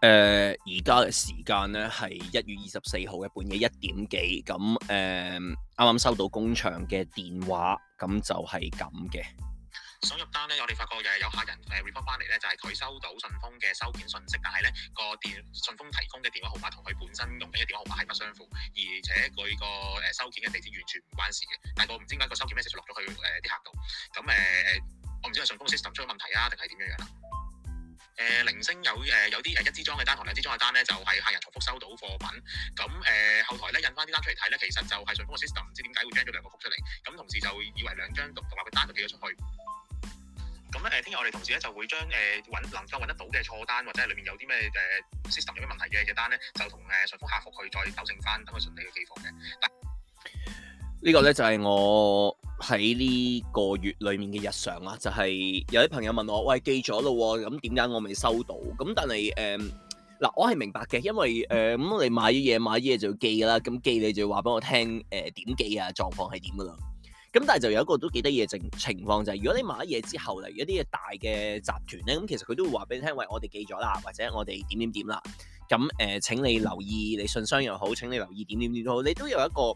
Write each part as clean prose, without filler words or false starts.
而家嘅時間咧係1月24號嘅半夜1點幾，咁啱啱收到工場嘅電話，咁就係咁嘅。 所入單咧，我哋發覺有客人report 翻嚟咧，就係佢收到順豐嘅收件信息，但係咧個順豐提供嘅電話號碼同佢本身用緊嘅電話號碼係不相符，而且佢個收件嘅地址完全唔關事嘅。但係我唔知點解個收件 message 落咗去啲客度，咁我唔知係順豐 system 出咗問題啊，定係點樣啦？零星有啲一支裝嘅單同2支裝嘅單咧，就係客人重複收到貨品，咁後台咧印翻啲單出嚟睇咧，其實就係順豐嘅 system 唔知點解會 generate 咗2個曲出嚟，咁同時就以為2張獨立嘅單就寄咗出去。咁聽日我哋同事咧就會將能夠揾得到嘅錯單或者係裏面有啲咩system 有咩問題嘅單咧，就同順豐客服去再糾正翻，等佢順利嘅寄貨嘅。 呢個咧就係我喺呢個月裏面嘅日常啦，就係有啲朋友問我，喂，寄咗咯喎，咁點解我未收到？咁但係嗱，我係明白嘅，因為咁你買咗嘢就要寄㗎啦，咁寄你就要話俾我聽點寄啊，狀況係點㗎啦。咁但係就有一個都幾得意嘅情況，就係如果你買咗嘢之後，例如一啲大嘅集團咧，咁其實佢都會話俾你聽，喂，我哋寄咗啦，或者我哋點啦。咁請你留意，你信箱又好，請你留意點都好，你都有一個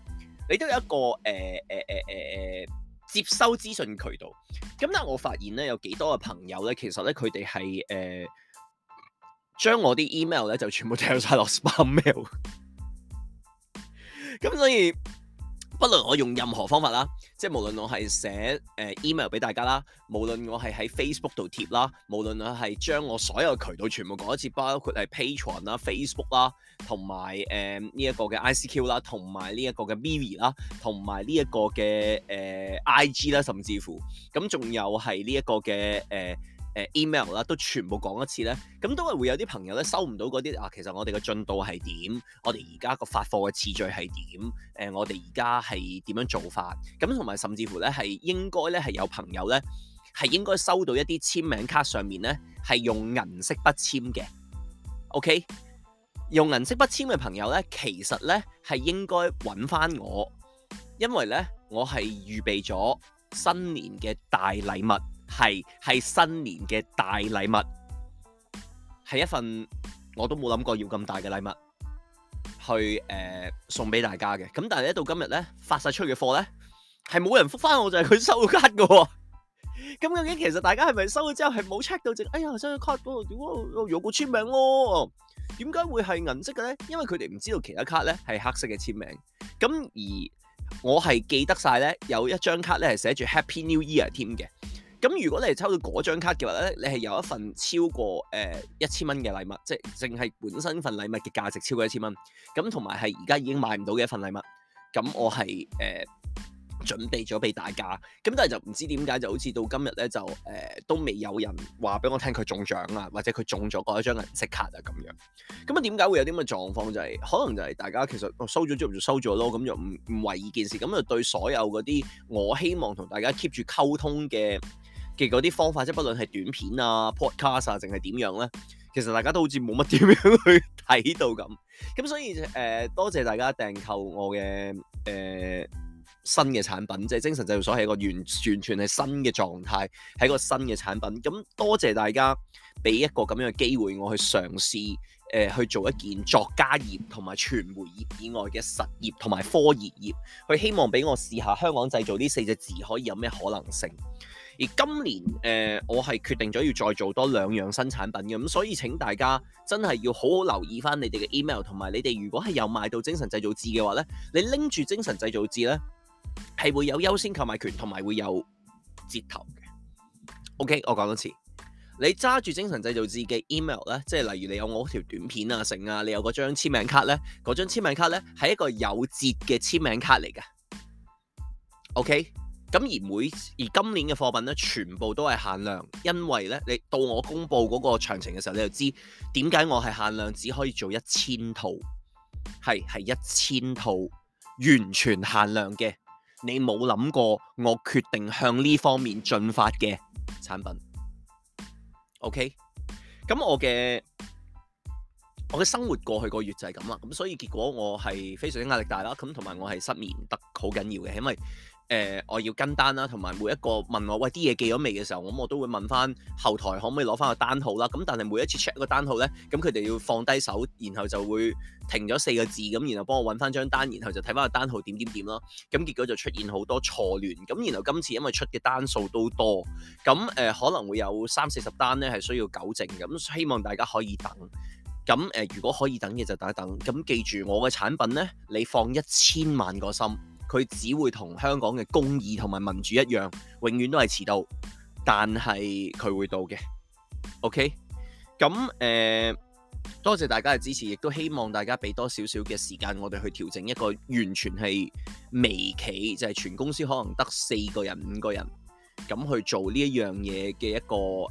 接收資訊渠道。咁但係我發現咧，有幾多嘅朋友咧，其實咧佢哋係將我啲 email 咧就全部掉晒落 spam mail。咁所以不論我用任何方法啦，即係無論我係寫email 俾大家啦，無論我係喺 Facebook 度貼啦，無論我係將我所有渠道全部講一次，包括係 Patreon 啦、Facebook 啦，同埋呢一個嘅 ICQ 啦，同埋呢一個嘅 Vivi 啦，同埋呢一個嘅IG 啦，甚至乎咁仲有係呢一個嘅email 啦，都全部講一次咧，咁都係會有啲朋友咧收唔到嗰啲其實我哋嘅進度係點，我哋而家個發貨嘅次序係點，我哋而家係點樣做法，咁同埋甚至乎咧係應該咧係有朋友咧係應該收到一啲簽名卡上面咧係用銀色筆簽嘅 ，OK， 用銀色筆簽嘅朋友咧，其實咧係應該揾翻我，因為咧我係預備咗新年嘅大禮物。係新年嘅大禮物，係一份我都冇諗過要咁大嘅禮物去送俾大家嘅。咁但係咧到今日咧發晒出去嘅貨咧係冇人覆翻我，就係佢收咗卡嘅喎。咁究竟其實大家係咪收咗之後係冇 check 到哎呀收咗卡嗰度點解有個簽名喎？點解會係銀色嘅咧？因為佢哋唔知道其他卡咧係黑色嘅簽名。咁而我係記得晒咧有一張卡咧係寫住 Happy New Year 添嘅。咁如果你係抽到嗰張卡嘅話咧，你係有一份超過1000蚊嘅禮物，即係淨係本身份禮物嘅價值超過1000蚊。咁同埋係而家已經買唔到嘅一份禮物。咁我係準備咗俾大家。咁但係就唔知點解就好似到今日咧就都未有人話俾我聽佢中獎啊，或者佢中咗嗰一張銀色卡啊咁樣。咁啊點解會有啲咁嘅狀況？就係可能就係大家其實收咗之後就收咗咯，咁就唔為意件事。咁就對所有嗰啲我希望同大家 keep 住溝通嘅嗰啲方法，即係不論係短片啊、podcast 啊，定係點樣咧，其實大家都好似冇乜點樣去睇到咁。咁所以多謝大家訂購我嘅新嘅產品，即係精神製造所係一個完全係新嘅狀態，係一個新嘅產品。咁多謝大家俾一個咁樣嘅機會，我去嘗試去做一件作家業同埋傳媒業以外嘅實業同埋科研業，去希望俾我試下香港製造呢4隻字可以有咩可能性。而今年我係決定咗要再做多2樣新產品嘅，咁所以請大家真係要好好留意翻你哋嘅 email， 同埋你哋如果係有買到精神製造誌嘅話咧，你拎住精神製造誌咧係會有優先購買權，同埋會有折頭嘅。OK， 我講多次，你揸住精神製造誌嘅 email 咧，即係例如你有我條短片啊、成啊，你有嗰張簽名卡咧，嗰張簽名卡咧係一個有折嘅簽名卡嚟嘅。OK。咁而今年嘅貨品咧，全部都係限量，因為咧，你到我公布嗰個詳情嘅時候，你就知點解我係限量，只可以做1000套，係1000套，完全限量嘅。你冇諗過，我決定向呢方面進發嘅產品。OK， 咁我嘅生活過去個月就係咁啦，咁所以結果我係非常之壓力大啦，咁同埋我係失眠得好緊要嘅，因為我要跟單啦，同埋每一個問我喂啲嘢寄咗未嘅時候，咁我都會問翻後台可唔可以攞翻個單號啦。咁但係每一次 check 個單號咧，咁佢哋要放低手，然後就會停咗4個字咁，然後幫我揾翻張單，然後就睇翻個單號點啦。咁結果就出現好多錯亂。咁然後今次因為出嘅單數都多，咁可能會有30-40單咧係需要糾正。咁希望大家可以等。咁如果可以等嘅就等一等。咁記住我嘅產品咧，你放1000萬個心。佢只會同香港嘅公義同埋民主一樣，永遠都係遲到，但係佢會到嘅。OK， 咁多謝大家嘅支持，亦都希望大家俾多少少嘅時間我哋去調整一個完全係微企，就係全公司可能得4個人、5個人咁去做呢一樣嘢嘅一個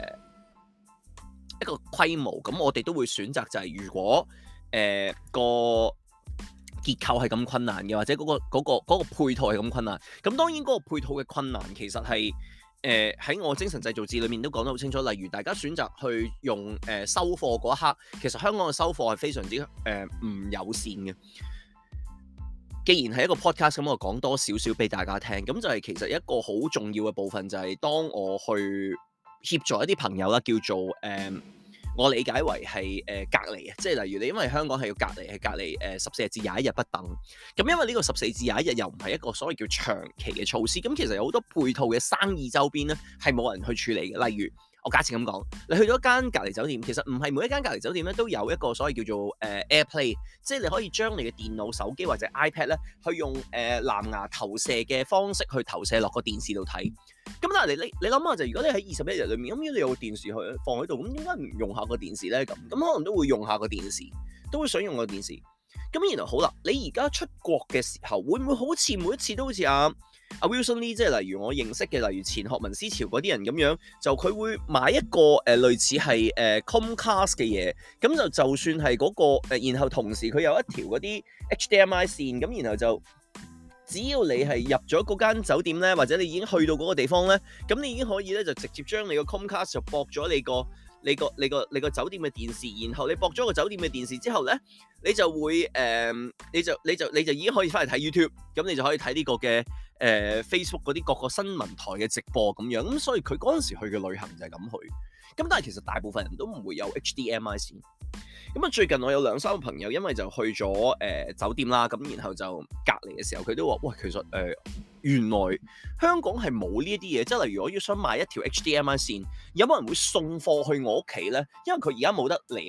規模。咁我哋都會選擇就係如果個結構係咁困難嘅，或者嗰個配套係咁困難，咁當然嗰個配套嘅困難其實係喺我精神製造誌裏面都講得好清楚。例如大家選擇去用收貨嗰一刻，其實香港嘅收貨係非常之唔友善嘅。既然係一個 podcast， 咁我講多少少俾大家聽，咁就係其實一個好重要嘅部分就係當我去協助一啲朋友啦，叫做我理解為係隔離啊，即係例如你因為香港係要隔離，係隔離14日至21日不等。咁因為呢個14至21日又唔係一個所謂叫長期嘅措施，咁其實有好多配套嘅生意周邊咧係冇人去處理嘅。例如我假設咁講，你去咗間隔離酒店，其實唔係每一間隔離酒店咧都有一個所謂叫做AirPlay， 即係你可以將你嘅電腦、手機或者 iPad 咧去用藍牙投射嘅方式去投射落個電視度睇。咁但係你諗下就，如果你喺21日裏面，咁如果你有個電視去放喺度，咁點解唔用下個電視咧？咁可能都會用下個電視，都會想用個電視。咁然後好啦，你而家出國嘅時候，會唔會好似每一次都好似阿 Wilson Lee， 即係例如我認識嘅，例如前學民思潮嗰啲人咁樣，就佢會買一個類似係Comcast 嘅嘢，咁就算係嗰個然後同時佢有一條嗰啲 HDMI 線，咁然後就只要你係入咗嗰間酒店咧，或者你已經去到嗰個地方咧，咁你已經可以咧就直接將你個 Comcast 就駁咗你個酒店嘅電視，然後你駁咗個酒店嘅電視之後咧，你就會你就已經可以翻嚟睇 YouTube， 咁你就可以睇呢個嘅Facebook 嗰啲各個新聞台嘅直播咁樣。咁所以佢嗰陣時去嘅旅行就係咁去。咁但係其實大部分人都唔會有 HDMI 線。咁啊，最近我有2-3個朋友，因為就去咗酒店啦，咁然後就隔離嘅時候，佢都話：喂，其實原來香港係冇呢一啲嘢，即係例如我要想買一條 HDMI 線，有冇人會送貨去我屋企咧？因為佢而家冇得離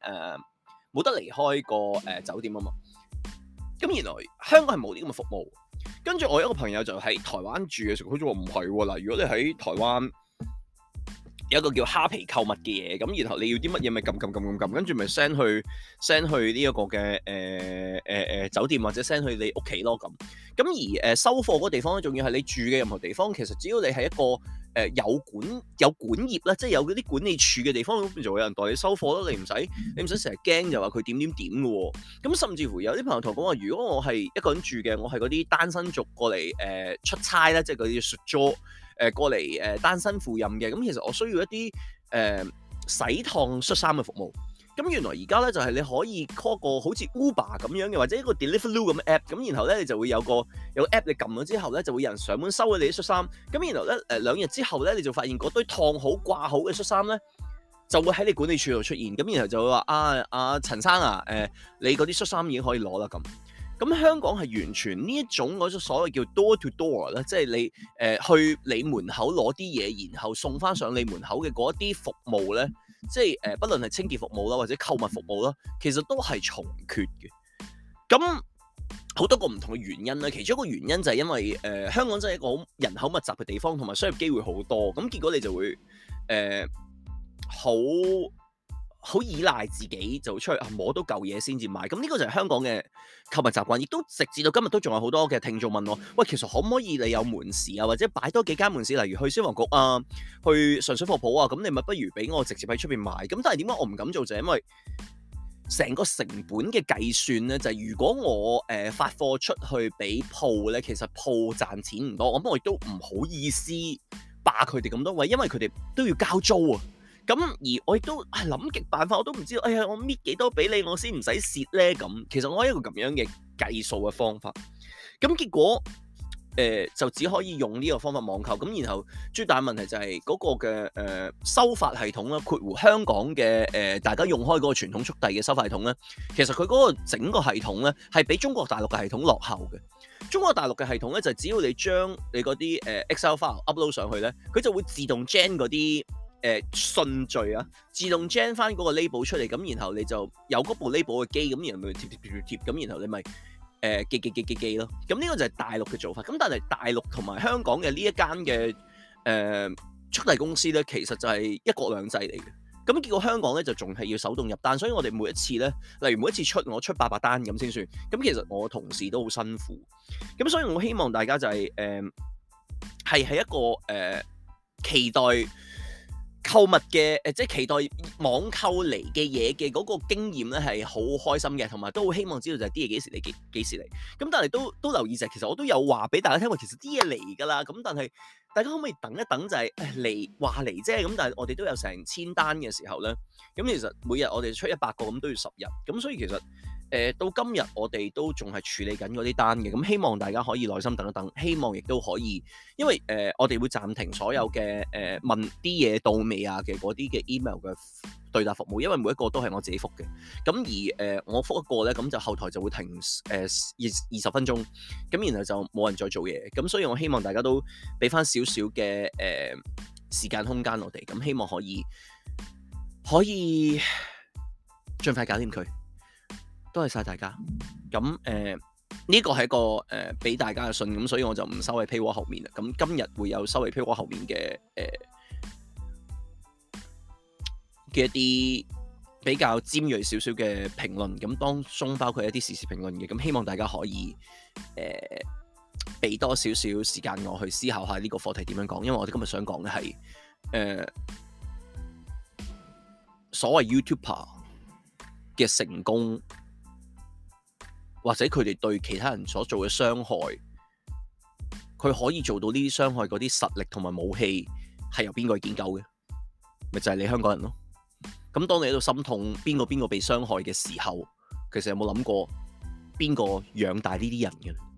開個酒店啊嘛。咁原來香港係冇呢咁嘅服務。跟住我有一個朋友就喺台灣住嘅時候，佢就話唔係喎，嗱，如果你喺台灣有一個叫蝦皮購物嘅嘢，咁然後你要啲乜嘢咪撳，跟住咪 send 去呢一個嘅酒店或者 send 去你屋企咯咁。咁而收貨嗰個地方咧，仲要係你住嘅任何地方，其實只要你係一個有管業啦，即係有嗰啲管理處嘅地方，就會有人代你收貨咯。你唔使成日驚就話佢點嘅喎。咁甚至乎有啲朋友同我講話，如果我係一個人住嘅，我係嗰啲單身族過嚟出差咧，即係嗰啲出租。過嚟單身赴任嘅，咁其實我需要一啲洗燙恤衫嘅服務。咁原來而家咧就係你可以 call 個好似 Uber 咁樣嘅，或者一個 Deliveroo 咁嘅 app。咁然後咧你就會有個 app， 你撳咗之後咧就會有人上門收咗你啲恤衫。咁然後咧2日之後咧你就發現嗰堆燙好掛好嘅恤衫咧就會喺你管理處度出現。咁然後就會話阿陳生啊，你嗰啲恤衫已經可以攞啦咁。咁香港係完全呢一種嗰種所謂叫 door to door 咧，即係你去你門口攞啲嘢，然後送翻上你門口嘅嗰啲服務咧，即係不論係清潔服務啦，或者購物服務啦，其實都係重缺嘅。咁好多個唔同嘅原因啦，其中一個原因就係因為香港真係一個好人口密集嘅地方，同埋商業機會好多，咁結果你就會好依賴自己就出去摸到舊嘢先至買，咁呢個就係香港嘅購物習慣，亦都直至到今日都仲有好多嘅聽眾問我，喂，其實可唔可以你有門市啊，或者擺多幾間門市，例如去消防局啊，去上水貨鋪啊，咁你咪不如俾我直接喺出邊買。咁但係點解我唔敢做，就係因為成個成本嘅計算咧，就係如果我發貨出去俾鋪咧，其實鋪賺錢唔多，咁我亦都唔好意思霸佢哋咁多位，因為佢哋都要交租啊。咁而我亦都諗極辦法，我都唔知道，我搣幾多俾你，我先唔使蝕咧咁。其實我係一個咁樣嘅計數嘅方法。咁結果就只可以用呢個方法網購。咁然後最大問題就係嗰個嘅收發系統啦，括弧香港嘅大家用開嗰個傳統速遞嘅收發系統咧，其實佢嗰個整個系統咧係比中國大陸嘅系統落後嘅。中國大陸嘅系統咧就只要你將你嗰啲Excel file upload 上去咧，佢就會自動 gen 嗰啲順序啊，自動 gen 翻嗰個 label 出嚟，咁然後你就有嗰部 label 嘅機，咁然後咪貼，咁然後你咪寄咯。咁呢個就係大陸嘅做法。咁但係大陸同埋香港嘅呢一間嘅速遞公司咧，其實就係一國兩制嚟嘅。咁結果香港咧就仲係要手動入單，所以我哋每一次咧，例如每一次我出800單咁先算。咁其實我同事都好辛苦。咁所以我希望大家就係係一個期待購物嘅即係期待網購嚟嘅嘢嘅嗰個經驗咧係好開心嘅，同埋都好希望知道就係啲嘢幾時嚟幾時嚟。咁但係都留意就係其實我都有話俾大家聽話，其實啲嘢嚟㗎啦。咁但係大家可唔可以等一等就係嚟話嚟啫？咁但係我哋都有成1000單嘅時候咧，咁其實每日我哋出100個咁都要10日。咁所以其實到今日我哋都仲係處理緊嗰啲單嘅。咁希望大家可以耐心等一等，希望亦都可以，因為我哋會暫停所有嘅問啲嘢到未啊嘅嗰啲嘅 email 嘅對答服務，因為每一個都係我自己覆嘅。咁而我覆一個咧，咁就後台就會停20分鐘，咁然後就冇人再做嘢。咁所以我希望大家都俾翻少少嘅時間空間我哋，咁希望可以盡快搞掂佢。多謝晒大家。咁呢個係一個俾大家嘅信，咁所以我就唔收喺 paywall 後面啦。咁今日會有收喺 paywall 後面嘅一啲比較尖銳少少嘅評論，咁當中包括一啲時事評論嘅。咁希望大家可以俾多少少時間我去思考下呢個課題點樣講，因為我哋今日想講嘅係所謂 YouTuber 嘅成功，或者佢哋對其他人所做嘅傷害，佢可以做到呢啲傷害嗰啲實力同埋武器係由邊個去建構嘅？咪就係你香港人咯。咁當你喺度心痛邊個被傷害嘅時候，其實有冇諗過邊個養大呢啲人嘅？